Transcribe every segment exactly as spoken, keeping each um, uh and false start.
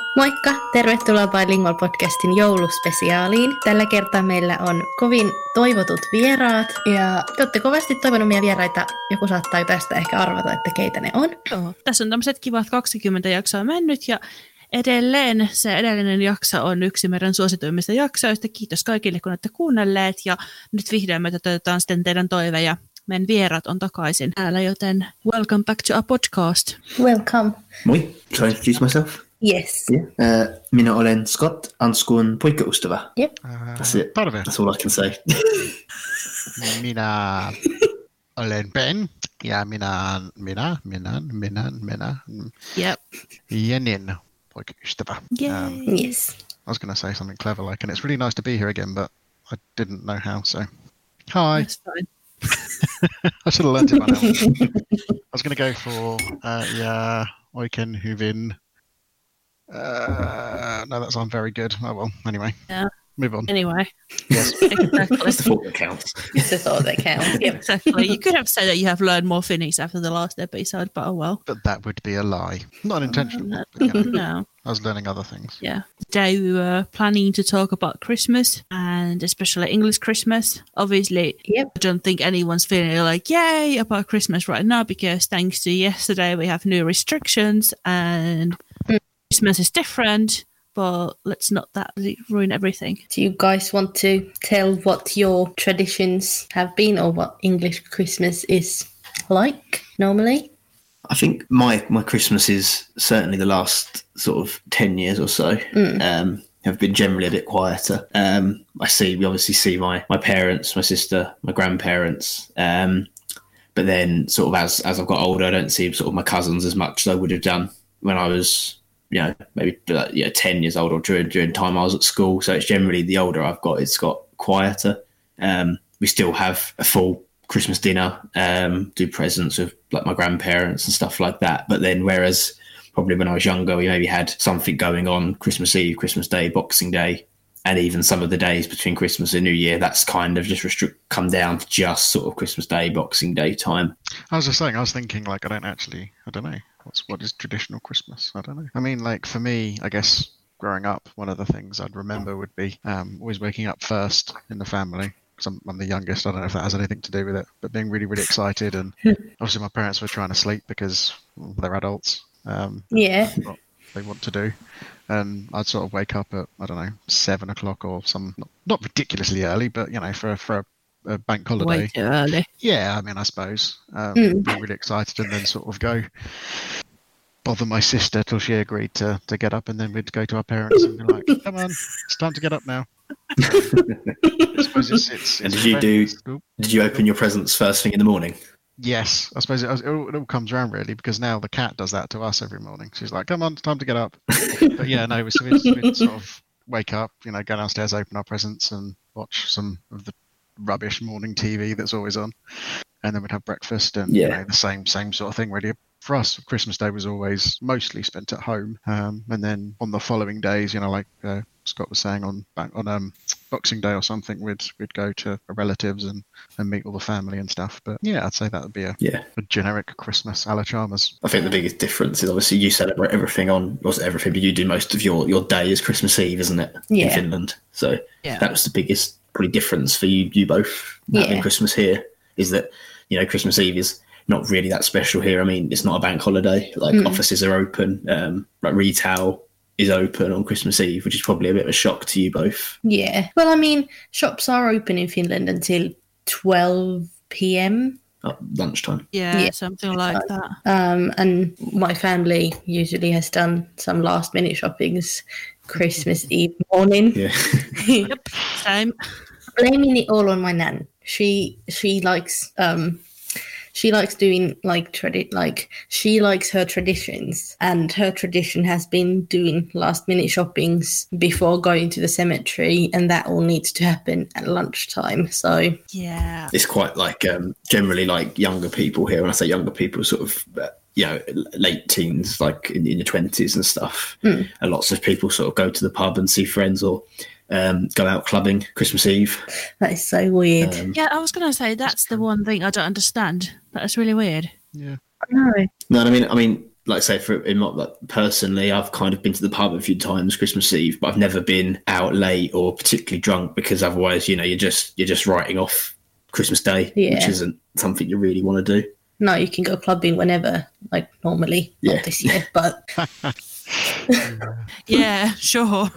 Moikka! Tervetuloa Bilingual podcastin jouluspesiaaliin. Tällä kertaa meillä on kovin toivotut vieraat ja te olette kovasti toivonut meidän vieraita. Joku saattaa tästä ehkä arvata, että keitä ne on. Joo, tässä on tämmöiset kivat kaksikymmentä jaksoa mennyt ja edelleen se edellinen jakso on yksi meidän suosituimmista jaksoista. Kiitos kaikille, kun olette kuunnelleet ja nyt vihdoin me toteutetaan sitten teidän toiveja. Meidän vieraat on takaisin täällä, joten welcome back to our podcast. Welcome. Moi, shall I introduce myself? Yes. Yeah. Uh, minä olen Scott, Anskun poikaystävä. Yep. Uh, That's it. Tarve. That's all I can say. Minä olen Ben ja minä, minä, minä, minä, minä, Yep. Jenin poikaystävä. Um, Yes. I was going to say something clever like, and it's really nice to be here again, but I didn't know how, so hi. That's fine. I should have learned it by now. I was going to go for, uh, yeah, oikein hyvin. Uh, no, that sounds very good. Oh well, anyway. Yeah. Move on. Anyway. Yes. Exactly. That's the thought that counts. It's the thought that counts. Yep. Exactly. You could have said that you have learned more Finnish after the last episode, but oh well. But that would be a lie. Not intentional. No. But, you know, No. I was learning other things. Yeah. Today we were planning to talk about Christmas and especially English Christmas. Obviously, Yep. I don't think anyone's feeling like, yay, about Christmas right now because thanks to yesterday we have new restrictions and Mm. Christmas is different, but let's not that ruin everything. Do you guys want to tell what your traditions have been or what English Christmas is like normally? I think my, my Christmas is certainly the last sort of ten years or so Mm. um, have been generally a bit quieter. Um, I see, we obviously see my, my parents, my sister, my grandparents. Um, but then sort of as, as I've got older, I don't see sort of my cousins as much as I would have done when I was, you know, maybe like, yeah, ten years old or during, during time I was at school. So it's generally the older I've got, it's got quieter. Um, we still have a full Christmas dinner, um, do presents with like my grandparents and stuff like that. But then whereas probably when I was younger, we maybe had something going on Christmas Eve, Christmas Day, Boxing Day, and even some of the days between Christmas and New Year, that's kind of just restrict, come down to just sort of Christmas Day, Boxing Day time. I was just saying, I was thinking, like, I don't actually, I don't know, what's what is traditional Christmas? I don't know. I mean, like, for me, I guess growing up, one of the things I'd remember would be um, always waking up first in the family. Because I'm, I'm the youngest, I don't know if that has anything to do with it, but being really, really excited. And obviously my parents were trying to sleep because well, they're adults. Um, Yeah. what they want to do. And I'd sort of wake up at, I don't know, seven o'clock or some, not, not ridiculously early, but, you know, for, for a, a bank holiday. Way too early. Yeah, I mean, I suppose. Um, Mm. Be really excited and then sort of go bother my sister till she agreed to, to get up, and then we'd go to our parents and be like, come on, it's time to get up now. I suppose it's... it's, And it's did you do- oh, Did you open your presents first thing in the morning? Yes, I suppose it, it, all, it all comes around really, because now the cat does that to us every morning. She's like, come on, it's time to get up. But yeah, no, so we'd, we'd sort of wake up, you know, go downstairs, open our presents and watch some of the rubbish morning T V that's always on. And then we'd have breakfast and you Yeah. know, the same same sort of thing really. For us, Christmas Day was always mostly spent at home. Um, and then on the following days, you know, like uh, Scott was saying, on on um, Boxing Day or something, we'd we'd go to relatives and, and meet all the family and stuff. But yeah, I'd say that would be a, Yeah. a generic Christmas a la Chalmers. I think the biggest difference is obviously you celebrate everything on, wasn't everything, but you do most of your, your day as Christmas Eve, isn't it? In Yeah. Finland. So Yeah. that was the biggest probably difference for you, you both having Yeah. Christmas here, is that, you know, Christmas Eve is not really that special here. I mean, it's not a bank holiday. Like Mm. offices are open, um, like retail is open on Christmas Eve, which is probably a bit of a shock to you both. Yeah. Well, I mean, shops are open in Finland until twelve p.m. At lunchtime. Yeah, Yeah. something like that. Um, and my family usually has done some last minute shoppings Christmas Eve morning. Yeah. Yep, same. Blaming it all on my nan. She she likes um she likes doing like tradi- like she likes her traditions, and her tradition has been doing last minute shoppings before going to the cemetery, and that all needs to happen at lunchtime. So Yeah. It's quite like um, generally like younger people here. When I say younger people, sort of, uh, you know, late teens, like in, in your twenties and stuff. Mm. And lots of people sort of go to the pub and see friends or um, go out clubbing Christmas Eve. that is so weird. Um, Yeah, I was going to say that's the one thing I don't understand. That's really weird. Yeah. No. no, I mean, I mean, like I say, for in my, like, personally, I've kind of been to the pub a few times Christmas Eve, but I've never been out late or particularly drunk, because otherwise, you know, you're just you're just writing off Christmas Day, Yeah. which isn't something you really want to do. No, you can go clubbing whenever, like normally. Yeah. Not this year, but Yeah, sure.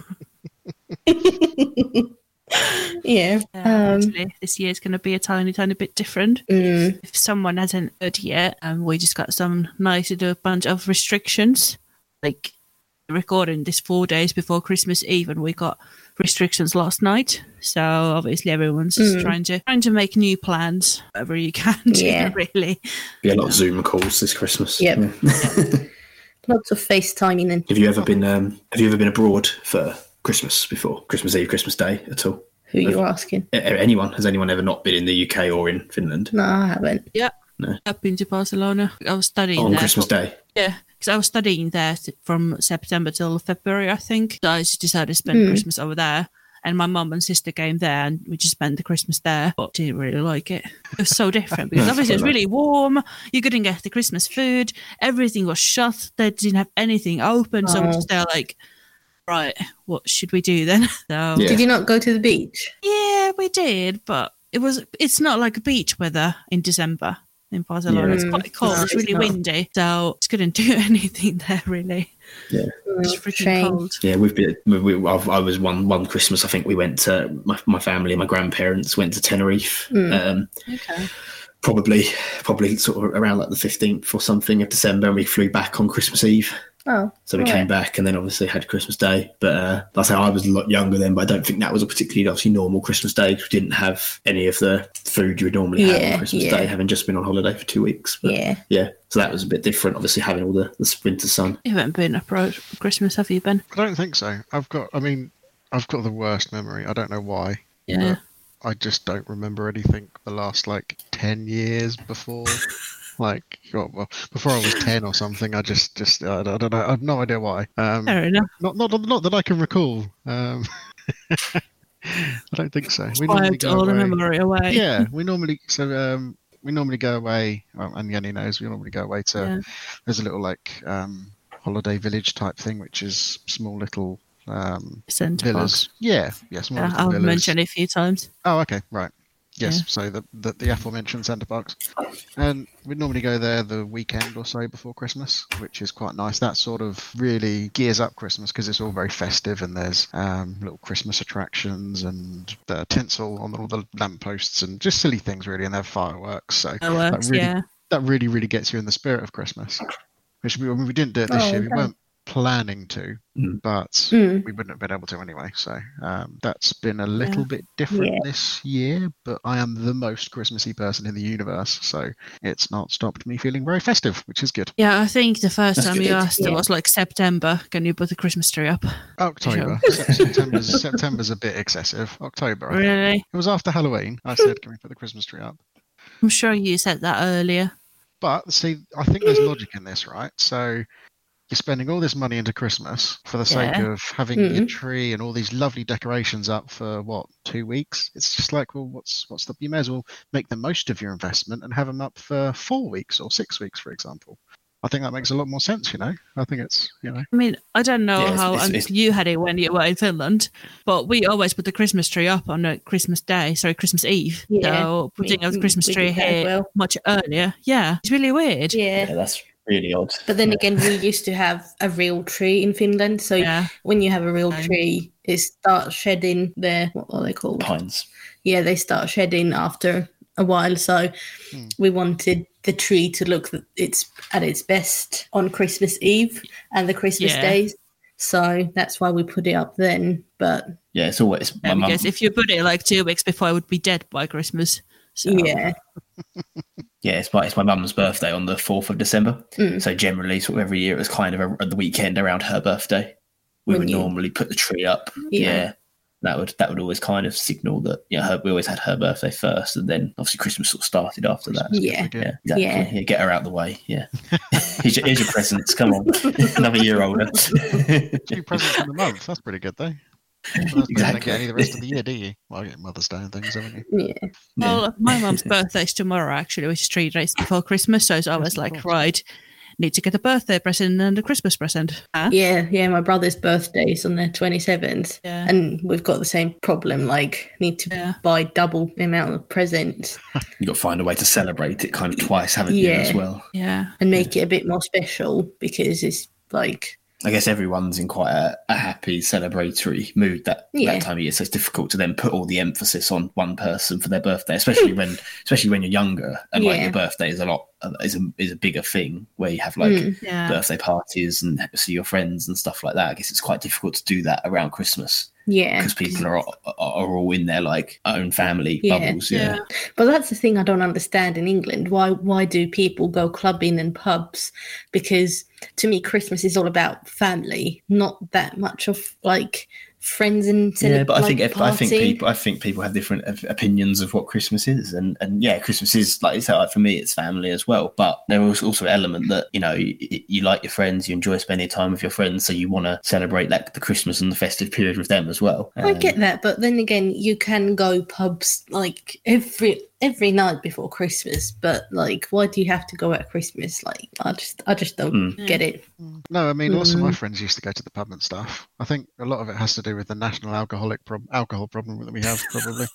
yeah. Yeah, Um, actually, this year's going to be a tiny, tiny bit different. mm, If someone hasn't heard yet, um, we just got some nice little bunch of restrictions. Like, recording this four days before Christmas Eve, and we got restrictions last night. So obviously everyone's just Mm. trying to trying to make new plans, whatever you can do, Yeah. really. Be a lot of Zoom calls this Christmas. Yep. Yeah. lots of FaceTiming and Have you ever been um, Have you ever been abroad for Christmas before? Christmas Eve, Christmas Day at all? who you're asking. A- Anyone? Has anyone ever not been in the U K or in Finland No, I haven't. Yeah. No. I've been to Barcelona. I was studying on there. Christmas for- Day? Yeah, because I was studying there th- from September till February, I think. So I just decided to spend Hmm. Christmas over there. And my mum and sister came there, and we just spent the Christmas there. But didn't really like it. It was so different because Yeah, obviously it was quite really warm. You couldn't get the Christmas food. Everything was shut. They didn't have anything open. So I was Oh. just there like, right, what should we do then? So Yeah. Did you not go to the beach? yeah, we did, but it was. It's not like beach weather in December in Barcelona. Yeah. It's quite cold. No, it's it's really not. windy, so just couldn't do anything there really. Yeah. It's Oh, freaking shame. cold. Yeah, we've been. We, we, I've, I was one one Christmas. I think we went to my, my family. My grandparents went to Tenerife. Mm. Um, Okay. probably, probably sort of around like the fifteenth or something of December, and we flew back on Christmas Eve. Oh, So we right. came back, and then obviously had Christmas Day. But uh, like I say, I was a lot younger then, but I don't think that was a particularly obviously normal Christmas Day. 'Cause we didn't have any of the food you would normally have Yeah, on Christmas yeah. Day, having just been on holiday for two weeks. But, Yeah. yeah. So that was a bit different. Obviously, having all the, the winter sun. You haven't been abroad for Christmas, have you, Ben? I don't think so. I've got. I mean, I've got the worst memory. I don't know why. Yeah. I just don't remember anything the last like ten years before. Like, oh, well, before I was ten or something. I just, just, I don't know. I have no idea why. Um, Fair enough. not, not, not that I can recall. Um, I don't think so. We normally Wiped go all the away. memory away. Yeah, we normally so um, we normally go away, um, and Yanni knows we normally go away to. Yeah. There's a little like um, holiday village type thing, which is small little um, Centre villas. box. Yeah, yeah, small Yeah, little I'll villas. mention it a few times. Oh, okay, right. Yes, Yeah. so the, the the aforementioned centre box, and we'd normally go there the weekend or so before Christmas, which is quite nice. That sort of really gears up Christmas because it's all very festive, and there's um, little Christmas attractions and the tinsel on all the lampposts and just silly things really, and they have fireworks. So Fireworks, that really yeah. that really really gets you in the spirit of Christmas. Which we, I mean, we didn't do it this Oh, year. We okay. weren't planning to, Mm. but Mm. we wouldn't have been able to anyway. So um, that's been a little Yeah. bit different Yeah. this year. But I am the most Christmassy person in the universe, so it's not stopped me feeling very festive, which is good. Yeah, I think the first That's time you good. asked it Yeah. was like September. Can you put the Christmas tree up? October, Se- September's September's a bit excessive. October, I think. Really? It was after Halloween. I said, "Can we put the Christmas tree up?" I'm sure you said that earlier. But see, I think there's logic in this, right? So you're spending all this money into Christmas for the sake Yeah. of having your Mm. tree and all these lovely decorations up for what, two weeks? It's just like, well, what's what's the? You may as well make the most of your investment and have them up for four weeks or six weeks, for example. I think that makes a lot more sense. You know, I think it's you know. I mean, I don't know Yeah, it's- how it's- um, it's- you had it when you were in Finland, but we always put the Christmas tree up on a Christmas Day, sorry, Christmas Eve. Yeah, So putting we- up the Christmas we tree did that as here well. much earlier. Yeah, it's really weird. Yeah. Yeah, that's really odd. But then again, we used to have a real tree in Finland. So Yeah. when you have a real Fine. tree, it starts shedding their, what are they called? Pines. Yeah, they start shedding after a while. So Hmm. we wanted the tree to look th- it's at its best on Christmas Eve and the Christmas Yeah. days. So that's why we put it up then. But Yeah, it's always my Yeah, mum. because if you put it like two weeks before, it would be dead by Christmas. So yeah, Yeah, it's my it's my mum's birthday on the fourth of December. Mm. So generally, sort of every year, it was kind of a, at the weekend around her birthday. We When would you- normally put the tree up. Yeah. Yeah. That would that would always kind of signal that yeah, her, we always had her birthday first, and then obviously Christmas sort of started after that. yeah, Yeah, exactly. Yeah. Yeah. Get her out the way. Yeah. here's, your, here's your presents. Come on, another year older. Two presents in a month. That's pretty good, though. Well, that's- You don't get any the rest of the year, do you? Well, you get Mother's Day and things, haven't you? yeah. Well, my mum's birthday's tomorrow, actually, which is three days before Christmas. So it's always like, course. right, need to get a birthday present and a Christmas present. Huh? Yeah, yeah. My brother's birthday's on the twenty-seventh, Yeah. and we've got the same problem. Like, need to Yeah. buy double the amount of presents You've got to find a way to celebrate it kind of twice, haven't you, Yeah. as well? Yeah. and make it a bit more special because it's like, I guess everyone's in quite a, a happy, celebratory mood that, Yeah. that time of year. So it's difficult to then put all the emphasis on one person for their birthday, especially when, especially when you're younger and like Yeah. your birthday is a lot is a is a bigger thing where you have like Mm. Yeah. birthday parties and see your friends and stuff like that. I guess it's quite difficult to do that around Christmas yeah. because people are are are all in their like own family Yeah. bubbles. Yeah. Yeah. But that's the thing I don't understand in England. Why why do people go clubbing and pubs? Because to me, Christmas is all about family, not that much of like friends and cele- Yeah, but I like, think if, I think partying. people I think people have different op- opinions of what Christmas is, and and yeah, Christmas is like you said, like for me, it's family as well. But there was also an element that you know you, you like your friends, you enjoy spending time with your friends, so you want to celebrate like the Christmas and the festive period with them as well. I Um, get that, but then again, you can go pubs like every every night before Christmas. But like, why do you have to go at Christmas? Like, I just I just don't Mm. get it. No, I mean, lots of my Mm. friends used to go to the pub and stuff. I think a lot of it has to do with the national alcoholic prob- alcohol problem that we have, probably.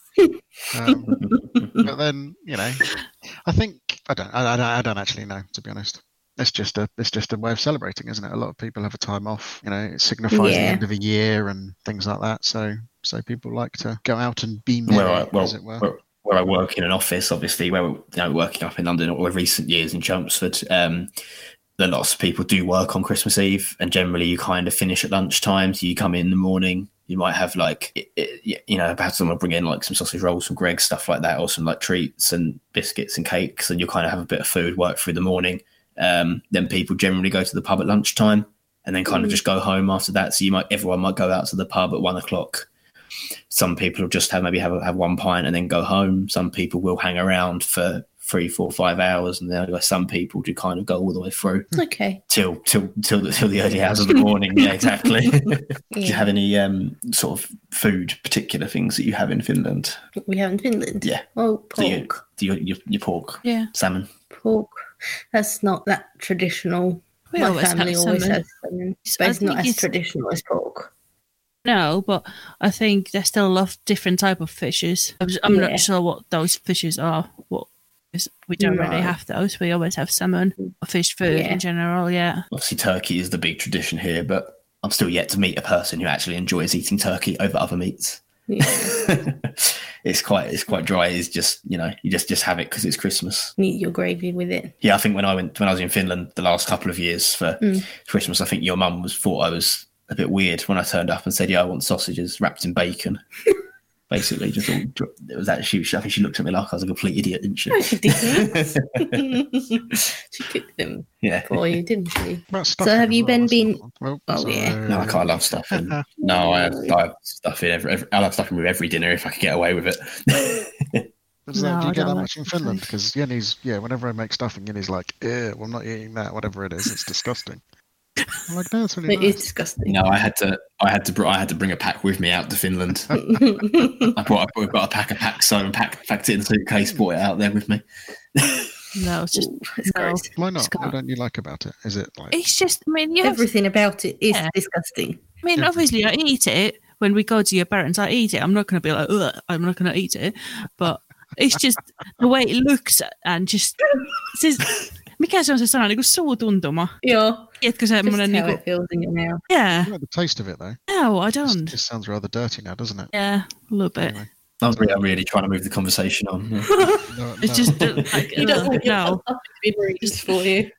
um, but then, you know, I think I don't, I, I don't, I don't actually know, to be honest. It's just a, it's just a way of celebrating, isn't it? A lot of people have a time off. You know, it signifies the Yeah. end of a year and things like that. So, so people like to go out and be merry, where I, well, as it were. where, where I work in an office, obviously, where you know, working up in London or recent years in Chelmsford, um, a lot of people do work on Christmas Eve, and generally you kind of finish at lunchtime. So you come in in the morning, you might have like, it, it, you know, perhaps someone bring in like some sausage rolls from Greggs, stuff like that, or some like treats and biscuits and cakes, and you kind of have a bit of food, work through the morning. Um, then people generally go to the pub at lunchtime and then kind of Mm. just go home after that. So you might, everyone might go out to the pub at one o'clock. Some people will just have maybe have have one pint and then go home. Some people will hang around for three, four, five hours, and then some people do kind of go all the way through Okay. till till till the, till the early hours of the morning. Yeah, exactly. Do you Yeah. have any um, sort of food particular things that you have in Finland? We have in Finland. Yeah. Oh, Do you, pork. do you, your, your pork, Yeah. salmon? Pork. That's not that traditional. We My always family have always salmon. has salmon, I but it's not think as it's- traditional as pork. No, but I think there's still a lot of different type of fishes. I'm, I'm Yeah. not sure what those fishes are. What is, we don't really No. have those. We always have salmon or fish food Yeah. in general. Yeah. Obviously, turkey is the big tradition here, but I'm still yet to meet a person who actually enjoys eating turkey over other meats. Yeah. it's quite it's quite dry. It's just you know you just just have it because it's Christmas. Eat your gravy with it. Yeah, I think when I went when I was in Finland the last couple of years for Mm. Christmas, I think your mum was thought I was a bit weird when I turned up and said, "Yeah, I want sausages wrapped in bacon." Basically, just all it was that she. I think she looked at me like I was a complete idiot, didn't she? No, she didn't. She cooked them Yeah. for you, didn't she? About So stuffing have as you well, been that's been- another one. Well, Oh, so- yeah. No, I can't love stuffing. No, I have, I have stuffing every, every. I love stuffing with every dinner if I can get away with it. But is that, No, do I you get don't that like much in Finland? Because Yenny's, yeah, whenever I make stuffing, Yenny's like, "Ew, well, I'm not eating that, whatever it is. It's disgusting." I'm like, no, it's really It is nice. disgusting. No, I had to. I had to. br- I had to bring a pack with me out to Finland. I brought. I got a pack of pack so and packed packed it in a suitcase. Brought it out there with me. No, it's just Ooh, it's no. gross. Why not? Just What can't. don't you like about it? Is it like It's just. I mean, you have. Everything about it is Yeah. disgusting. I mean, obviously, I eat it when we go to your parents. I eat it. I'm not going to be like, ugh, I'm not going to eat it. But it's just the way it looks and just. Siis, mikä se on se sana? Niin kuin suutuntuma. Yeah. Tiedätkö Just semmoinen how niin it feels in your mouth. yeah. you like the taste of it though? No, I This, don't. this sounds rather dirty now, doesn't it? Yeah, a little bit. Anyway. I was really, I'm really trying to move the conversation on. yeah. No, It's no. just uh, like, You don't ugh, want your no. stuff to be bruised for you.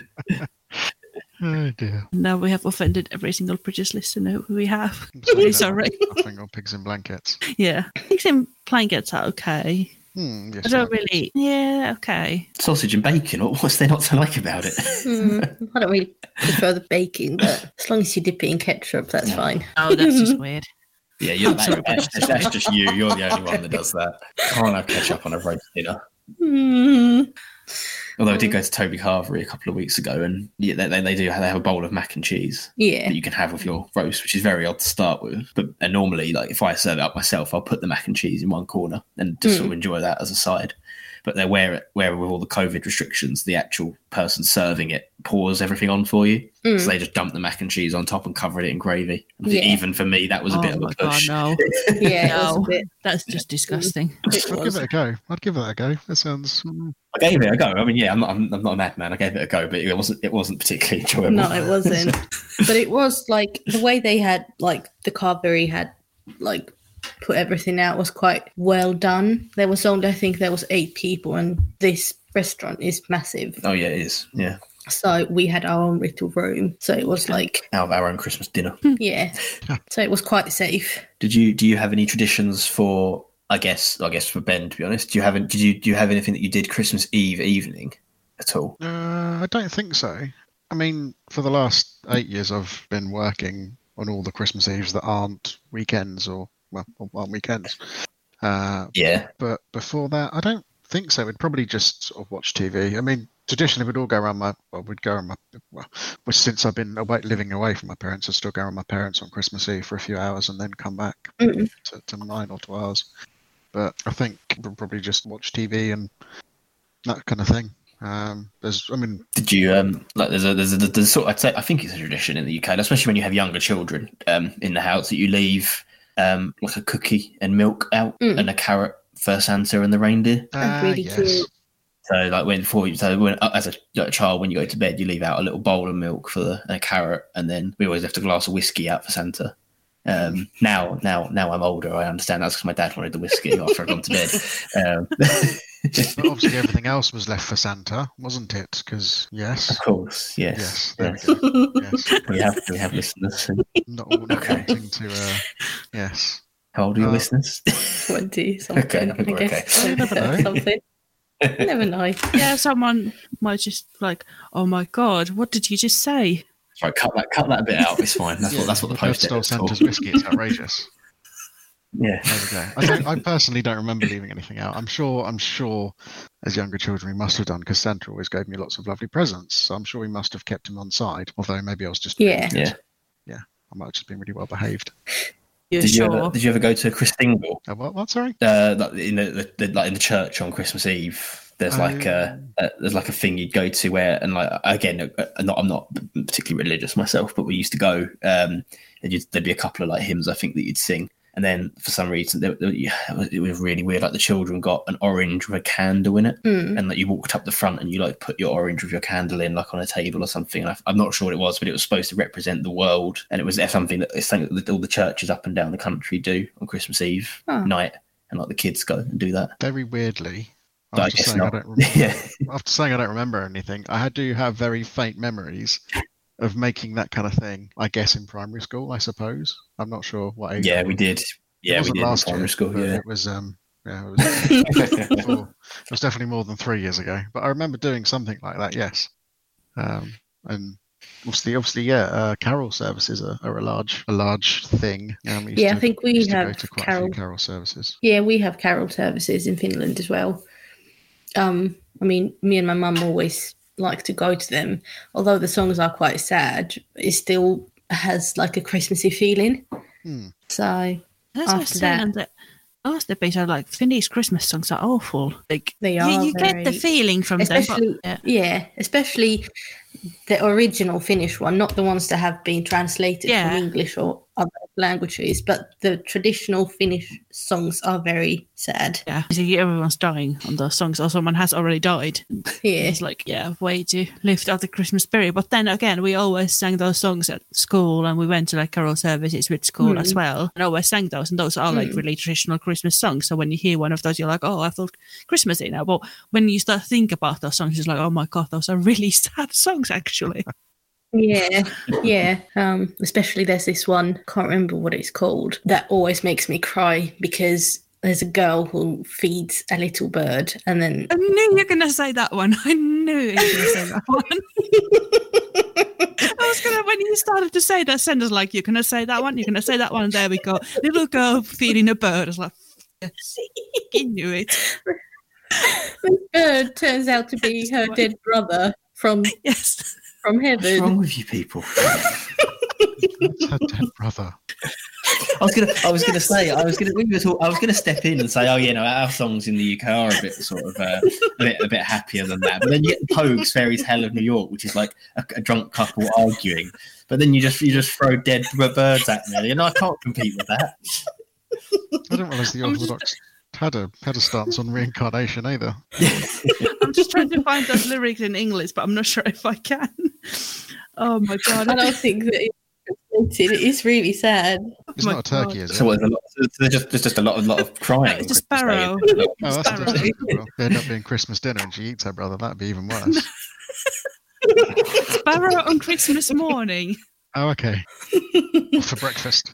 Oh dear. Now we have offended every single British listener we have. So you know, Sorry. Stuffing or pigs in blankets. Yeah, I think some blankets are okay. Hmm, yes, I don't like- really. Yeah, okay. Sausage and bacon. What, what's there not to like about it? Mm, I don't really prefer the baking, but as long as you dip it in ketchup, that's fine. Oh, that's just weird. Yeah, you're, I'm sorry, that's, that's, that's just you. You're the only one that does that. Can't have ketchup on a roast dinner. Mm. Although I did go to Toby Carvery a couple of weeks ago, and yeah, they, they, they do have, they have a bowl of mac and cheese Yeah. that you can have with your roast, which is very odd to start with. But and normally, like if I serve it up myself, I'll put the mac and cheese in one corner and just Mm. sort of enjoy that as a side. but they're where where with all the COVID restrictions, the actual person serving it pours everything on for you. Mm. So they just dump the mac and cheese on top and cover it in gravy. I Yeah. think even for me, that was a Oh bit of my a push. God, no. Yeah, it was No, a bit. that's just disgusting. It I'd give was. it a go. I'd give it a go. That sounds. mm, I gave it a go. I mean, yeah, I'm not, I'm, I'm not a madman. I gave it a go, but it wasn't it wasn't particularly enjoyable. No, it wasn't. But it was like the way they had, like the carvery had, like put everything out was quite well done. There was only, I think there was eight people, and this restaurant is massive. Oh yeah, it is. Yeah, So we had our own little room. So it was like, out of our own Christmas dinner. yeah. So it was quite safe. Did you do you have any traditions for? I guess I guess for Ben, to be honest, do you have did you do you have anything that you did Christmas Eve evening at all? Uh, I don't think so. I mean, for the last eight years, I've been working on all the Christmas Eves that aren't weekends or well, aren't weekends. Uh, Yeah, but before that, I don't think so. We'd probably just sort of watch T V. I mean, traditionally, we'd all go around my. Well, we'd go around my. Well, well, since I've been away, living away from my parents, I still go around my parents on Christmas Eve for a few hours and then come back Mm. to, to nine or two hours. But I think we'll probably just watch T V and that kind of thing. Um, there's, I mean, did you um like there's a there's a there's sort I'd say I think it's a tradition in the U K, especially when you have younger children um in the house, that you leave um like a cookie and milk out Mm. and a carrot for Santa and the reindeer. That's uh, really yes. cute. So like when before you so when as a, like a child when you go to bed, you leave out a little bowl of milk for the, and a carrot, and then we always left a glass of whiskey out for Santa. Um, now, now, now I'm older. I understand that's because my dad wanted the whiskey after I'd gone to bed. Um, But obviously, everything else was left for Santa, wasn't it? Because yes, of course, yes. yes, there yes. we go. Yes, We have we have listeners. not all not Okay. wanting to. Uh, yes, How old are your Uh, listeners? twenty something, Okay, I guess. okay. You never know. Something. You never know. Yeah, someone might just like, oh my God, what did you just say? Right, cut that cut that bit out. It's fine. That's what that's what the Dad post stole is for. Santa's whiskey. It's outrageous. Yeah. There we go. I, don't, I personally don't remember leaving anything out. I'm sure. I'm sure, as younger children, we must have done because Santa always gave me lots of lovely presents. So I'm sure we must have kept him on side. Although maybe I was just Yeah. Yeah. I might have just been really well behaved. You're Did you sure? ever did you ever go to Christingle? Uh, what? What? Sorry. Uh, like in the, the, the like in the church on Christmas Eve. There's like a, a there's like a thing you'd go to where, and like again, I'm not I'm not particularly religious myself, but we used to go. Um, and you'd, there'd be a couple of like hymns I think that you'd sing, and then for some reason there, there, it was really weird. Like the children got an orange with a candle in it, Mm. and like you walked up the front and you like put your orange with your candle in like on a table or something. And I, I'm not sure what it was, but it was supposed to represent the world, and it was something that it's something that all the churches up and down the country do on Christmas Eve Oh. night, and like the kids go and do that. Very weirdly. But I After guess saying I, not. don't remember, Yeah. after saying I don't remember anything, I do have very faint memories of making that kind of thing. I guess in primary school, I suppose. I'm not sure what age. Yeah, I we was. did. It Yeah, we wasn't did in last primary year, school. but Yeah. it was. Um, yeah, it was. before, it was definitely more than three years ago. But I remember doing something like that. Yes. Um, and obviously, obviously, yeah. Uh, carol services are, are a large, a large thing. Um, we used Yeah, I to- think we used to go have to quite a carol. few carol services. Yeah, we have carol services in Finland as well. Um, I mean, me and my mum always like to go to them. Although the songs are quite sad, it still has like a Christmassy feeling. Hmm. So That's what after I'm saying. that- That last episode, like Finnish Christmas songs are awful. Like They you, are you get the very- feeling from them. especially But, yeah. yeah, especially the original Finnish one, not the ones that have been translated Yeah. from English or other languages, but the traditional Finnish songs are very sad. Yeah, see, everyone's dying on those songs, or someone has already died. Yeah, It's like, yeah, way to lift up the Christmas spirit. But then again, we always sang those songs at school, and we went to like carol services with school Mm. as well, and always sang those. And those are like Mm. really traditional Christmas songs. So when you hear one of those, you're like, oh, I feel Christmassy now. But when you start to think about those songs, it's like, oh my God, those are really sad songs, actually. yeah, yeah. Um, especially there's this one, can't remember what it's called, that always makes me cry because there's a girl who feeds a little bird and then I knew you were going to say that one. I knew you were going to say that one. I was going to, when you started to say that sentence, like, you're going to say that one, you're going to say that one, and there we go. Little girl feeding a bird. I was like, yes, I knew it. the bird turns out to be her dead brother from Yes. from What's heaven. wrong with you people? That's her dead brother. was gonna, I was gonna say, I was gonna, we were talk, I was gonna step in and say, oh, you know, our songs in the U K are a bit sort of uh, a bit, a bit happier than that. But then you get the Pogues' Fairy Tale of New York, which is like a, a drunk couple arguing. But then you just, you just throw dead birds at me, and I can't compete with that. I didn't realise the Orthodox had a had a stance on reincarnation either. I'm just trying to find those lyrics in English, but I'm not sure if I can. Oh my god! I don't think that it's translated. It is really sad. It's Oh not my a turkey, God. is it? So there's, a lot, there's just there's just a lot, a lot of crying. It's a on Christmas Day. sparrow. Oh, that's Sparrow. interesting. Well, they end up being Christmas dinner and she eats her brother. That'd be even worse. Sparrow on Christmas morning. Oh, okay. For breakfast.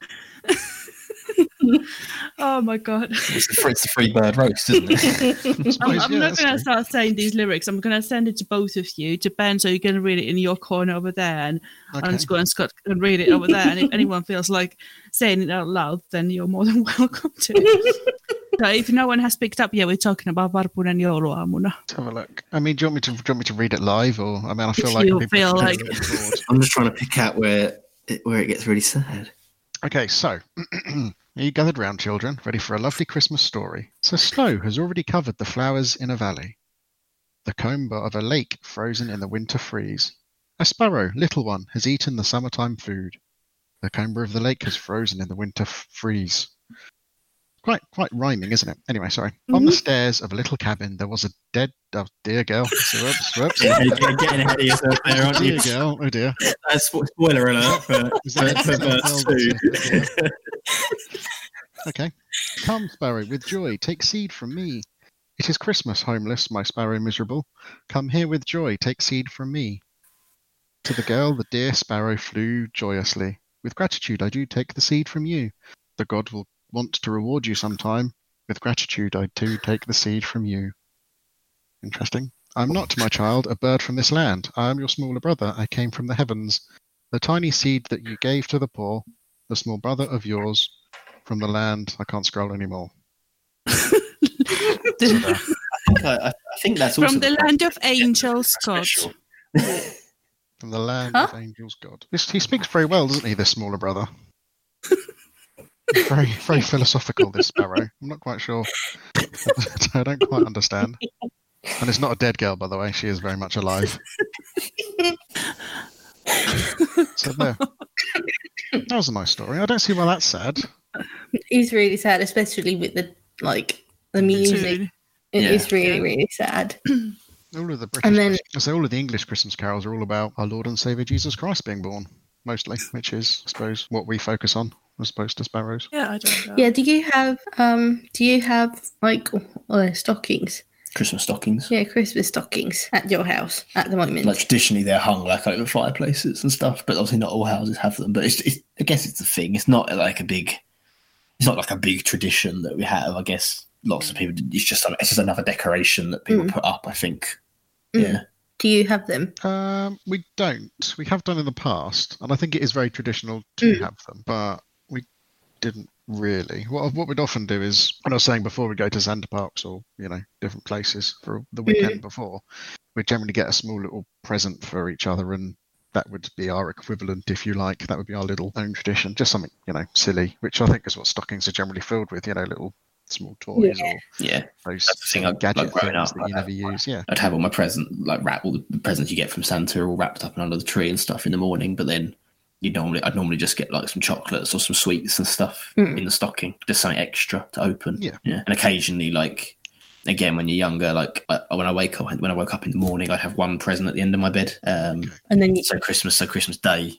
Oh my god! It's the free, it's the free bird roast, isn't it? I I'm, suppose, I'm yeah, not that's going to true. start saying these lyrics. I'm going to send it to both of you, to Ben, so you can read it in your corner over there, and Okay. I'm just going to Scott and read it over there. And if anyone feels like saying it out loud, then you're more than welcome to. So if no one has picked up yet, we're talking about Varpunen jouluaamuna. Let's have a look. I mean, do you want me to do you want me to read it live, or I mean, I feel If like you people feel are like- getting a little bored. I'm just trying to pick out where it, where it gets really sad. Okay, so are you gathered round, children, ready for a lovely Christmas story? So snow has already covered the flowers in a valley, the comb of a lake frozen in the winter freeze. A sparrow, little one, has eaten the summertime food. The comber of the lake has frozen in the winter f- freeze. Quite, quite rhyming, isn't it? Anyway, sorry. On the stairs of a little cabin, there was a dead, oh dear girl. So, whoops, whoops. Yeah, you're getting ahead of yourself there, aren't you? Dear girl, oh dear. Uh, spo- spoiler alert for, Is for, that- for verse two. Okay. Come, sparrow, with joy, take seed from me. It is Christmas, homeless, my sparrow miserable. Come here with joy, take seed from me. To the girl, the dear sparrow flew joyously. With gratitude, I do take the seed from you. The God will want to reward you sometime. With gratitude, I too take the seed from you. Interesting. I'm not, my child, a bird from this land. I am your smaller brother. I came from the heavens. The tiny seed that you gave to the poor, the small brother of yours, from the land. I can't scroll anymore. I think, I, I think that's also From the land of angels, special. God. From the land Huh? of angels, God. This, he speaks very well, doesn't he, this smaller brother? very, very philosophical, this sparrow. I'm not quite sure. I don't quite understand. And it's not a dead girl, by the way. She is very much alive. So there. That was a nice story. I don't see why that's sad. It's really sad, especially with the like the music. Tune. It Yeah. is really, really sad. All of the British, And then- I say all of the English Christmas carols are all about our Lord and Saviour Jesus Christ being born, mostly, which is, I suppose, what we focus on, as opposed to sparrows. Yeah, I don't know. Yeah, do you have um do you have like uh, stockings? Christmas stockings. Yeah, Christmas stockings at your house at the moment. Like traditionally, they're hung like over fireplaces and stuff, but obviously not all houses have them. But it's, it's I guess it's the thing. It's not like a big, it's not like a big tradition that we have. I guess lots of people. It's just it's just another decoration that people Mm. put up. I think. Mm. Yeah. Do you have them? Um, we don't. We have done in the past, and I think it is very traditional to Mm. have them, but we didn't really. What what we'd often do is, when I was saying before, we go to Santa Parks or you know different places for the weekend before, we'd generally get a small little present for each other, and that would be our equivalent, if you like. That would be our little own tradition, just something you know silly, which I think is what stockings are generally filled with. You know, little small toys Yeah. or Yeah. those That's the thing, sort of like- gadget like growing things up, that you I- never use. Yeah. I'd have all my present like wrap all the presents you get from Santa are all wrapped up and under the tree and stuff in the morning. But then you normally I'd normally just get like some chocolates or some sweets and stuff Mm. in the stocking, just something extra to open. Yeah. yeah. And occasionally, like again, when you're younger, like I, when I wake up when I woke up in the morning, I'd have one present at the end of my bed. Um, And then you so Christmas, so Christmas Day.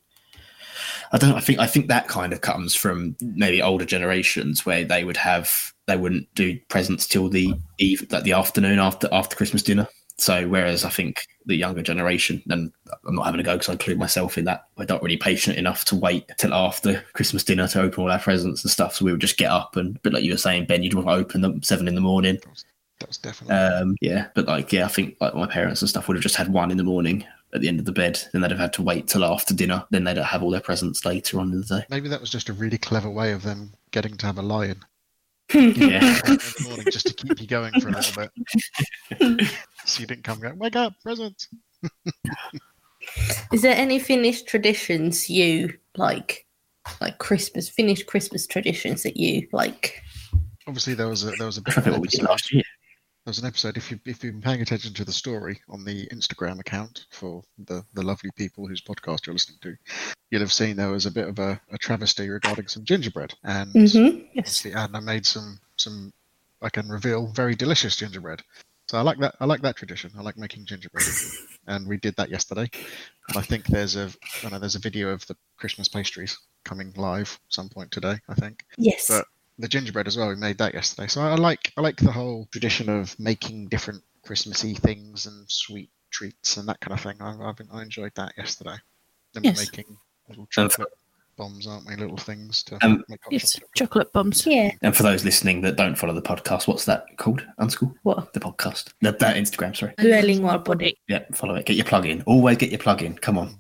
I don't know. I think I think that kind of comes from maybe older generations where they would have they wouldn't do presents till the eve, like the afternoon after after Christmas dinner. So whereas I think the younger generation, and I'm not having a go because I include myself in that, we're not really patient enough to wait till after Christmas dinner to open all our presents and stuff. So we would just get up and, but like you were saying, Ben, you'd want to open them seven in the morning. That was definitely. Um, yeah, but like yeah, I think like my parents and stuff would have just had one in the morning at the end of the bed. Then they'd have had to wait till after dinner. Then they'd have all their presents later on in the day. Maybe that was just a really clever way of them getting to have a lie-in Yeah. in the morning, just to keep you going for a little bit. So you didn't come going, wake up, presents. Is there any Finnish traditions you like like Christmas, Finnish Christmas traditions that you like? Obviously, there was a there was a I bit don't of think an what we did episode. last year. There was an episode. If you if you've been paying attention to the story on the Instagram account for the the lovely people whose podcast you're listening to, you'll have seen there was a bit of a, a travesty regarding some gingerbread, and Mm-hmm. Yes. obviously Anna made some some I can reveal very delicious gingerbread. So I like that. I like that tradition. I like making gingerbread, and we did that yesterday. And I think there's a I know there's a video of the Christmas pastries coming live some point today. I think. Yes. But the gingerbread as well, we made that yesterday. So I like I like the whole tradition of making different Christmassy things and sweet treats and that kind of thing. I I've been, I enjoyed that yesterday. Then Yes. we're making little chocolate bombs, aren't we? Little things to Um, make hot Yes, chocolate. chocolate bombs. yeah. And for those listening that don't follow the podcast, what's that called? Unschool? What? The podcast. The, that Instagram, sorry. Dueling body. Yeah, follow it. Get your plug in. Always get your plug in. Come on.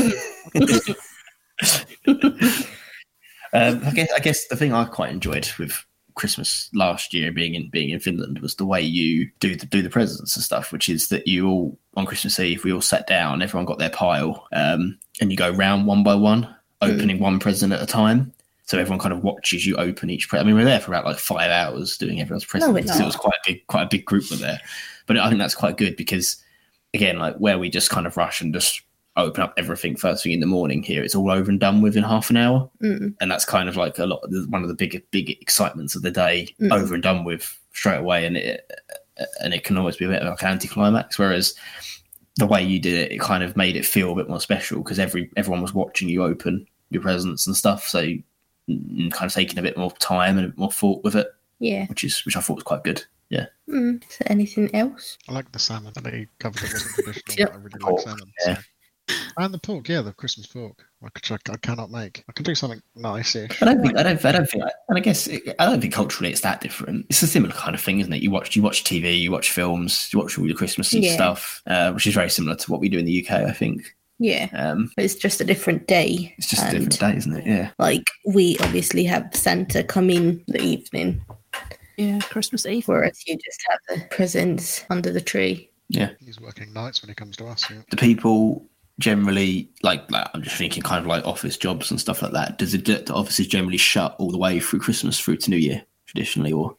um, I guess I guess the thing I quite enjoyed with Christmas last year being in being in Finland was the way you do the do the presents and stuff, which is that you all on Christmas Eve we all sat down, everyone got their pile, um, and you go round one by one, opening one present at a time. So everyone kind of watches you open each present. I mean, we were there for about like five hours doing everyone's presents. we're So it not. was quite a big quite a big group were there. But I think that's quite good because again, like where we just kind of rush and just open up everything first thing in the morning here, it's all over and done within half an hour. Mm. And that's kind of like a lot one of the big big excitements of the day, Mm. over and done with straight away, and it and it can always be a bit of like an anticlimax. Whereas the way you did it, it kind of made it feel a bit more special because every everyone was watching you open your presents and stuff, so mm, kind of taking a bit more time and a bit more thought with it, Yeah. which is which I thought was quite good. Yeah, Mm. Is there anything else? I like the salmon. I know you covered it wasn't traditional, Yep. but I really Pork, like salmon. yeah. So. And the pork, yeah, the Christmas pork, which I, I cannot make. I can do something nice-ish. I don't think I don't I don't think and I guess it, I don't think culturally it's that different. It's a similar kind of thing, isn't it? You watch you watch T V, you watch films, you watch all your Christmas Yeah. stuff, uh, which is very similar to what we do in the U K. I think Yeah. um, But it's just a different day. it's just a and, different day, isn't it? Yeah. Like, we obviously have Santa come in the evening, Yeah, Christmas Eve. whereas you just have the presents under the tree. Yeah. He's working nights when he comes to us. Yeah. Do people generally like, like I'm just thinking kind of like office jobs and stuff like that? Does it do the offices generally shut all the way through Christmas through to New Year traditionally, or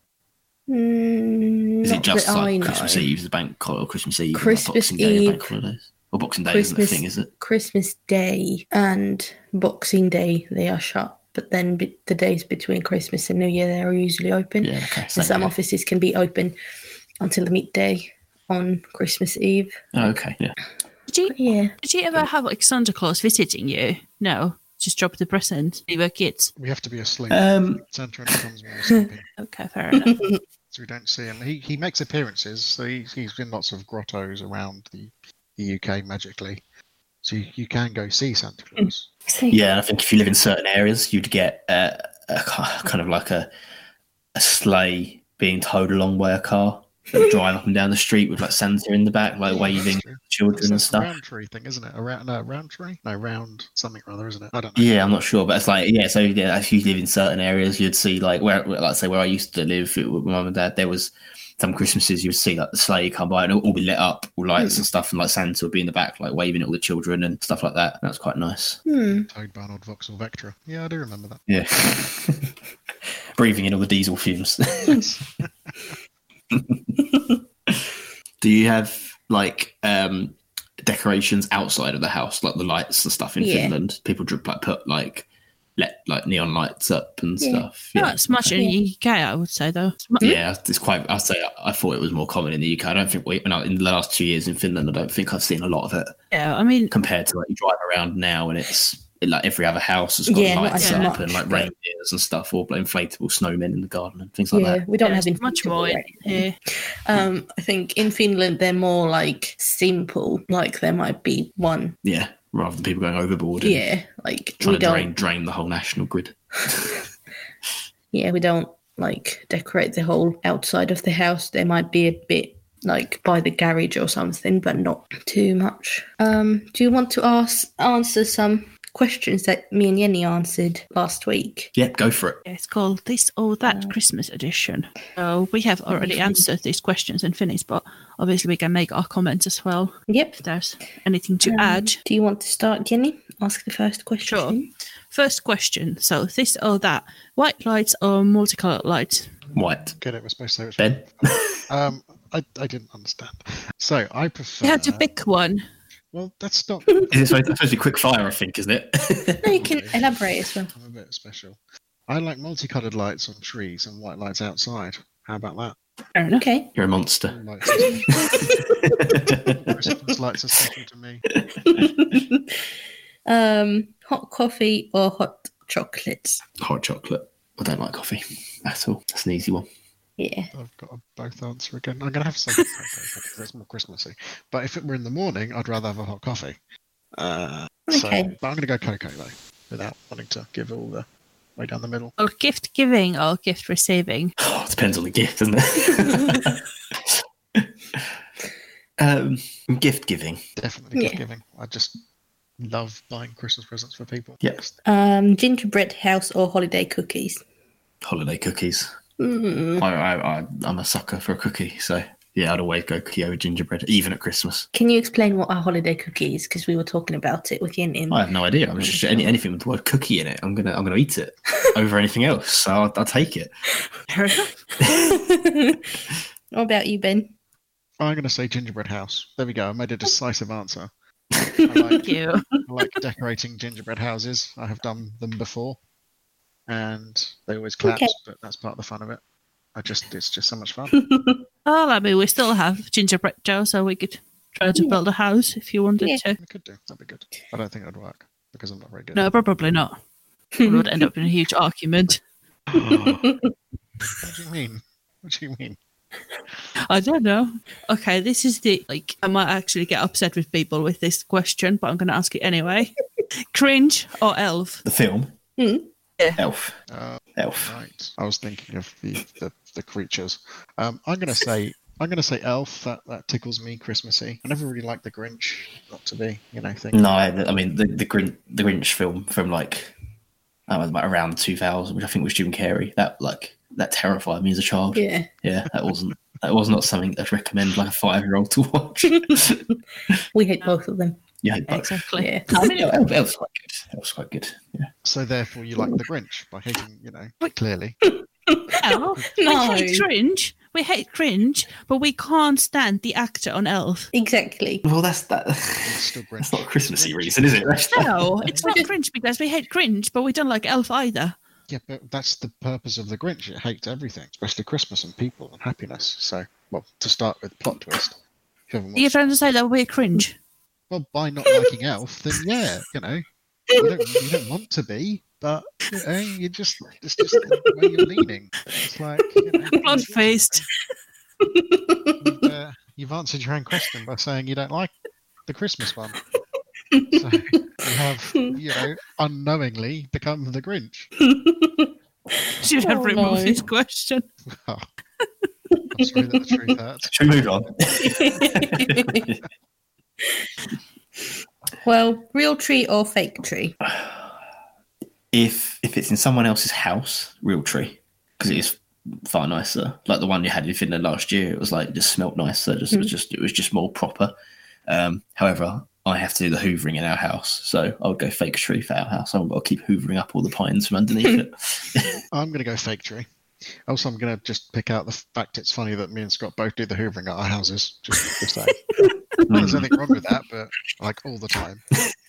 Mm, is not it just that I like know. Christmas Eve, the bank hol- or Christmas Eve, and, like, Christmas Boxing Day, and bank Eve, holidays, or Boxing Day isn't the Christmas, thing, is it? Christmas Day and Boxing Day, they are shut. But then be- the days between Christmas and New Year, they are usually open. Yeah. Okay. And same some here. offices can be open until the midday on Christmas Eve. Oh, okay. Yeah. Did you, Yeah. did you ever have like Santa Claus visiting you? No, just drop the present. You were kids. We have to be asleep. Um, Santa only comes when we're sleeping, Okay, fair enough. so we don't see him. He he makes appearances. So he, he's in lots of grottos around the, the U K magically. So you, you can go see Santa Claus. So, Yeah, and I think if you live in certain areas, you'd get uh, a ki- kind of like a a sleigh being towed along by a car that would drive up and down the street with like Santa in the back, like Yeah, waving that's true. children and That's stuff. a round tree thing, isn't it? A round, no, round tree? No, round something or other, isn't it? I don't know. Yeah, I'm not sure, but it's like yeah. So yeah, if you live in certain areas, you'd see like where, like say where I used to live with my mum and dad, there was some Christmases you would see like the sleigh come by and it'll all be lit up, all lights and stuff, and like Santa would be in the back, like waving at all the children and stuff like that. That's quite nice. hmm. Towed by an old Vauxhall Vectra. Yeah, I do remember that. Yeah, breathing in all the diesel fumes. Do you have like um decorations outside of the house, like the lights and stuff in Yeah. Finland? People drip like put like let like neon lights up and Yeah. stuff. Not as much in the U K, I would say, though. Yeah, it's quite. I'd say I thought it was more common in the U K. I don't think we, no, in the last two years in Finland, I don't think I've seen a lot of it Yeah, I mean, compared to like you drive around now and it's like every other house has got Yeah, not lights as up much, and like but- reindeers and stuff, or like, inflatable snowmen in the garden and things like Yeah, that. we don't yeah, have it's much inflatable more or in anything. here. Um, I think in Finland they're more like simple. Like there might be one. Yeah, rather than people going overboard and Yeah, like trying we to don't. drain drain the whole national grid. Yeah, we don't like decorate the whole outside of the house. There might be a bit like by the garage or something, but not too much. Um, do you want to ask answer some questions that me and Jenny answered last week? Yep, go for it. Yeah, it's called This or That Christmas Edition. So we have already answered these questions in Finnish, but obviously we can make our comments as well Yep. if there's anything to Um, add. Do you want to start, Jenny? Ask the first question. Sure. First question. So this or that. White lights or multicolored lights? White. Get it? We're supposed to say which Ben? one. Um, I, I didn't understand. So I prefer. You have to pick one. Well, that's not. Is it supposed, supposed to be quick fire, I think, isn't it? No, you can elaborate as well. I'm a bit special. I like multicolored lights on trees and white lights outside. How about that? Okay. You're a monster. Lights are Christmas lights are special to me. um, hot coffee or hot chocolates? Hot chocolate. I don't like coffee at all. That's an easy one. Yeah. I've got a both answer again. I'm going to have to say hot cocoa because it's more Christmassy. But if it were in the morning, I'd rather have a hot coffee. Uh, so, Okay. but I'm going to go cocoa though, without wanting to give all the way down the middle. Or gift giving or gift receiving? Oh, it depends on the gift, doesn't it? um, gift giving. Definitely gift Yeah. giving. I just love buying Christmas presents for people. Yes. Um, gingerbread house or holiday cookies? Holiday cookies. Mm. I, I, I, I'm a sucker for a cookie, so yeah, I'd always go cookie over gingerbread, even at Christmas. Can you explain what a holiday cookie is? Because we were talking about it with Yin in. I have no idea. I'm just any, anything with the word cookie in it. I'm gonna I'm gonna eat it over anything else. So I'll, I'll take it. Fair enough. What about you, Ben? I'm going to say gingerbread house. There we go. I made a decisive answer. I like, Thank you. I like decorating gingerbread houses. I have done them before, and they always collapse, Okay. but that's part of the fun of it. I just it's just so much fun. Oh, I mean, we still have gingerbread Joe, so we could try to Yeah. build a house if you wanted Yeah. to. We could do. That'd be good. I don't think it'd work because I'm not very good. No, probably not. It would end up in a huge argument. What do you mean? What do you mean? I don't know. Okay, this is the, like, I might actually get upset with people with this question, but I'm going to ask it anyway. Cringe or Elf? The film. Mm. Yeah. Elf. Uh, Elf. right. I was thinking of the the, the creatures. Um, I'm gonna say I'm gonna say Elf. That that tickles me Christmassy. I never really liked the Grinch. Not to be, you know, thing. No, I I mean the the Grinch, the Grinch film from like I was about around two thousand, which I think was Jim Carrey. That like that terrified me as a child. Yeah. Yeah, that wasn't that was not something I'd recommend like a five year old to watch. We hate both of them. You hate both. Exactly. Yeah. I mean, Elf, Elf's quite good. Elf's quite good. Yeah. So therefore, you like the Grinch by hating, you know, Wait. clearly. No, No. we hate cringe. We hate cringe, but we can't stand the actor on Elf. Exactly. Well, that's that. It's still Grinch. That's not a Christmassy reason, is it? That's No, it's not cringe because we hate cringe, but we don't like Elf either. Yeah, but that's the purpose of the Grinch. It hates everything, especially Christmas and people and happiness. So, well, to start with, plot twist. If you haven't You're watched, trying to say that we're cringe. well, by not liking Elf, then yeah, you know, you don't, you don't want to be, but you know, you just it's just the way you're leaning. It's like you know, Plot faced. you've, uh, you've answered your own question by saying you don't like the Christmas one. So you have, you know, unknowingly become the Grinch. Should have Oh, removed no. this question. Oh, I'm sorry that the truth hurts. Should we move on? Well, real tree or fake tree? if if it's in someone else's house, real tree, because it is far nicer. Like the one you had in Finland last year, it was like just smelt nicer. Just it was just it was just more proper. Um, however, I have to do the hoovering in our house, so I would go fake tree for our house. I've got to keep hoovering up all the pines from underneath it. I'm going to go fake tree. Also, I'm going to just pick out the fact it's funny that me and Scott both do the hoovering at our houses. Just to say. There's nothing wrong with that, but like all the time.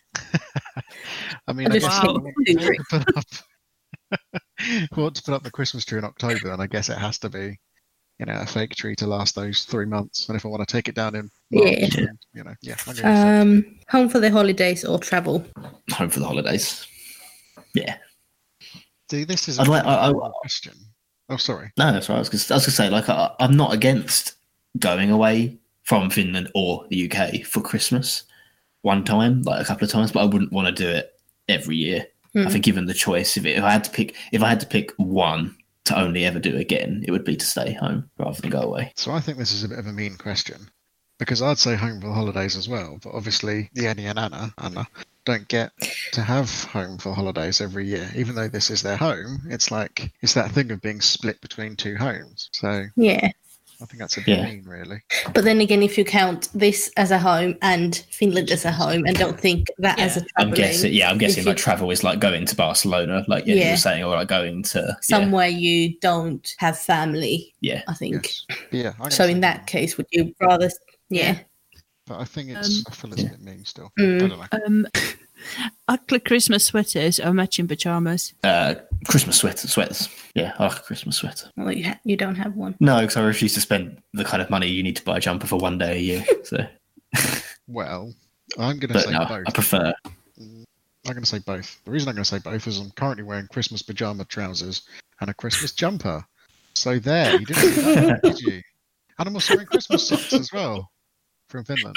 I mean, I I just guess hate if I want hoovering. to put up, want to put up the Christmas tree in October, and I guess it has to be, you know, a fake tree to last those three months. And if I want to take it down in March, Yeah. then, you know, yeah, I'm going to fake Um, home for the holidays or travel? Home for the holidays. Yeah. See, this is I'd a like- I- I- really question. Oh, sorry. No, that's right. I was going to say, like, I, I'm not against going away from Finland or the U K for Christmas one time, like a couple of times, but I wouldn't want to do it every year. Hmm. I think given the choice, if, it, if I had to pick, if I had to pick one to only ever do again, it would be to stay home rather than go away. So I think this is a bit of a mean question because I'd say home for the holidays as well, but obviously Jenny and Anna, Anna don't get to have home for holidays every year. Even though this is their home, it's like it's that thing of being split between two homes. So Yeah. I think that's a bit Yeah. mean, really. But then again, if you count this as a home and Finland as a home, and don't think that as a Yeah. I'm traveling, guessing, yeah, I'm guessing if like you- travel is like going to Barcelona, like yeah, you Yeah. were saying, or like going to yeah, somewhere you don't have family, yeah. I think. Yes. But yeah. I'm gonna So say in that no. case, would you rather? Yeah. But I think it's. Um, I feel it's yeah. a bit mean still. Mm. I don't know. Um, ugly Christmas sweaters or matching pajamas. Uh, Christmas sweater, sweaters. Yeah, I like a Christmas sweater. Well, you ha- you don't have one. No, because I refuse to spend the kind of money you need to buy a jumper for one day a year. So, Well, I'm going to but say no, both. I prefer. I'm going to say both. The reason I'm going to say both is I'm currently wearing Christmas pajama trousers and a Christmas jumper. So there, you didn't see that, did you? And I'm also wearing Christmas socks as well from Finland.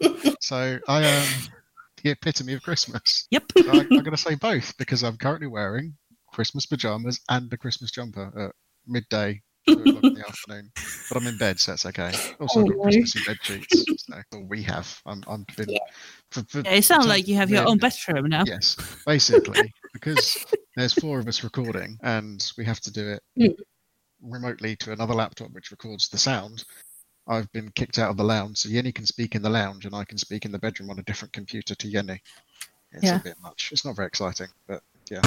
So I am the epitome of Christmas. Yep. So I, I'm going to say both because I'm currently wearing Christmas pajamas and a Christmas jumper at midday, two o'clock in the afternoon. But I'm in bed, so that's okay. Also, I've got Oh, Christmassy bed sheets. So, or we have. I'm. I'm been. Yeah. For, for, Yeah, it sounds for like you have your time own being- bedroom now. Yes, basically, because there's four of us recording and we have to do it Mm. remotely to another laptop which records the sound. I've been kicked out of the lounge, so Yenny can speak in the lounge and I can speak in the bedroom on a different computer to Yenny. It's Yeah. a bit much. It's not very exciting, but yeah.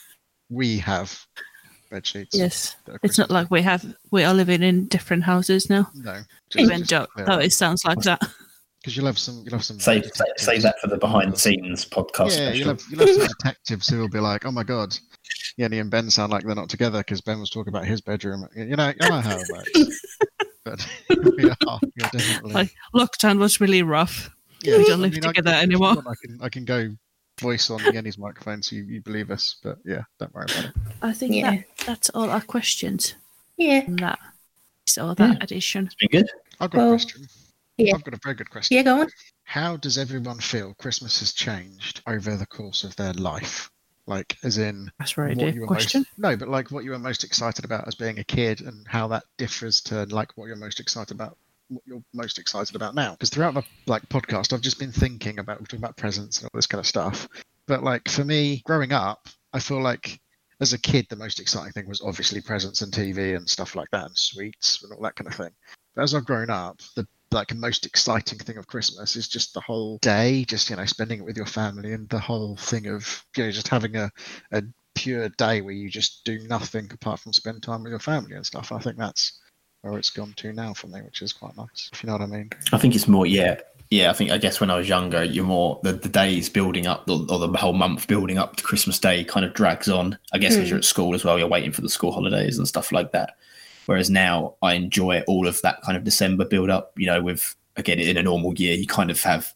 We have bed sheets. Yes. that are It's not Christmas- like we have we are living in different houses now. No. Even though, though it sounds like that. Because you'll have some, you'll have some. Save, save, save that for the behind the scenes podcast Yeah, special. you'll have, you'll have some detectives who will be like, "Oh my god, Yenny and Ben sound like they're not together because Ben was talking about his bedroom." You know, you know how it works. But we are, you're definitely. Like lockdown was really rough. yeah, we don't I live mean, I together can- if you anymore. want, I can, I can go voice on Yenny's microphone so you, you believe us. But yeah, don't worry about it. I think Yeah. that that's all our questions Yeah. on that. So that Yeah. edition. It's been good. I've got Well, a question. yeah. I've got a very good question. Yeah, go on. How does everyone feel Christmas has changed over the course of their life? Like, as in, That's a very what deep you were question. most no, but like what you were most excited about as being a kid, and how that differs to like what you're most excited about, what you're most excited about now. Because throughout the like podcast, I've just been thinking about we're talking about presents and all this kind of stuff. But like for me, growing up, I feel like as a kid, the most exciting thing was obviously presents and T V and stuff like that, and sweets and all that kind of thing. But as I've grown up, the like most exciting thing of Christmas is just the whole day, just you know, spending it with your family, and the whole thing of you know just having a, a pure day where you just do nothing apart from spend time with your family and stuff. I think that's where it's gone to now for me, which is quite nice, if you know what I mean. I think it's more, yeah. Yeah, I think, I guess when I was younger, you're more, the, the days building up, or, or the whole month building up to Christmas Day kind of drags on. I guess because Hmm. you're at school as well, you're waiting for the school holidays and stuff like that. Whereas now I enjoy all of that kind of December build up, you know, with, again, in a normal year, you kind of have,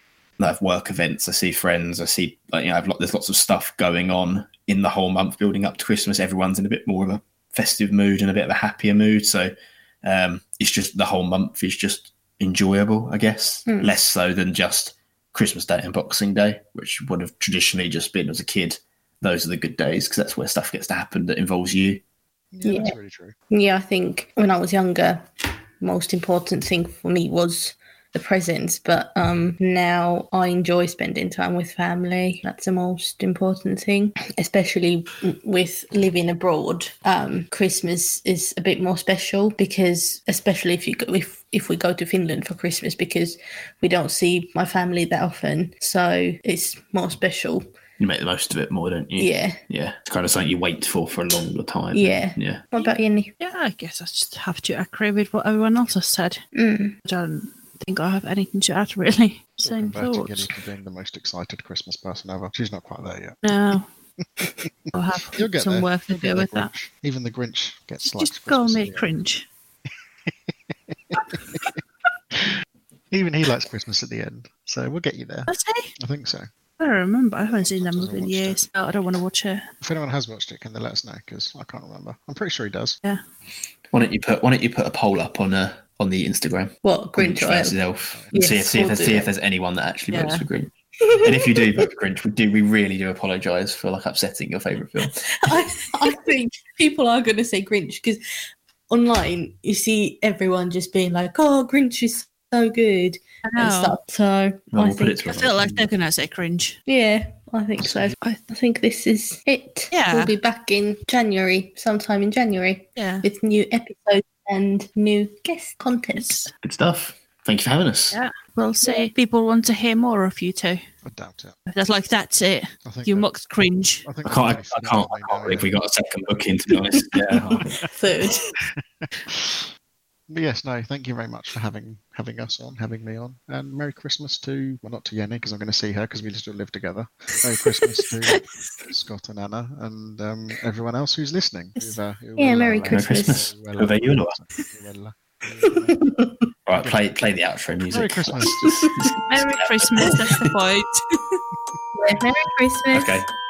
I have work events, I see friends, I see, like, you know, I've lot, there's lots of stuff going on in the whole month building up to Christmas. Everyone's in a bit more of a festive mood and a bit of a happier mood. So um, it's just the whole month is just enjoyable, I guess, Hmm. less so than just Christmas Day and Boxing Day, which would have traditionally just been as a kid. Those are the good days because that's where stuff gets to happen that involves you. Yeah, Yeah. that's really true. Yeah, I think when I was younger, most important thing for me was the presents. But um, now I enjoy spending time with family. That's the most important thing, especially with living abroad. Um, Christmas is a bit more special because, especially if you go, if if we go to Finland for Christmas, because we don't see my family that often, so it's more special. You make the most of it more, don't you? Yeah, Yeah. It's kind of something you wait for for a longer time. yeah. Yeah. What about Jenny? Yeah, I guess I just have to agree with what everyone else has said. Mm. I don't think I have anything to add, really. Same Converting thoughts. Yenny to being the most excited Christmas person ever. She's not quite there yet. No. I'll have You'll get some there. work to You'll get do there, with that. Grinch. Even the Grinch gets Just, slight just call Christmas me in the end. cringe. Even he likes Christmas at the end, so we'll get you there. Does he? I think so. I don't remember. I haven't seen that Hasn't movie in watched it. years. Oh, I don't want to watch it. If anyone has watched it, can they let us know? Because I can't remember. I'm pretty sure he does. Yeah. Why don't you put Why don't you put a poll up on uh, on the Instagram? What, Grinch or versus Elf? Elf. And see, Yes, see if we'll there's, do see that. if there's anyone that actually votes Yeah. for Grinch. And if you do vote for Grinch, we do we really do apologise for like upsetting your favourite film. I, I think people are going to say Grinch because online you see everyone just being like, "Oh, Grinch is so good" I and know. stuff. So Well, I we'll put think, it to I feel like they're going to say cringe. yeah, I think so. I, I think this is it. Yeah. We'll be back in January, sometime in January, Yeah. with new episodes and new guest content. Good stuff. Thank you for having us. Yeah, we'll see. People want to hear more of you two. I doubt it. That's like, that's it. I think You that- mocked cringe. I, think I can't. I, that's I pretty can't. I phenomenal can't believe now, we got a second booking. To be honest. Yeah. Third. yeah. But yes, no, thank you very much for having having us on, having me on, and Merry Christmas to, well, not to Yenny because I'm going to see her because we still live together. Merry Christmas to Scott and Anna and um, everyone else who's listening. Who've, uh, who Yeah, will, Merry uh, Christmas. Merry Christmas. who will, Who are you, Laura? who will, uh, who will, uh, Right, play play the outro music. Merry Christmas. Merry Christmas, that's the point. Merry Christmas. Okay.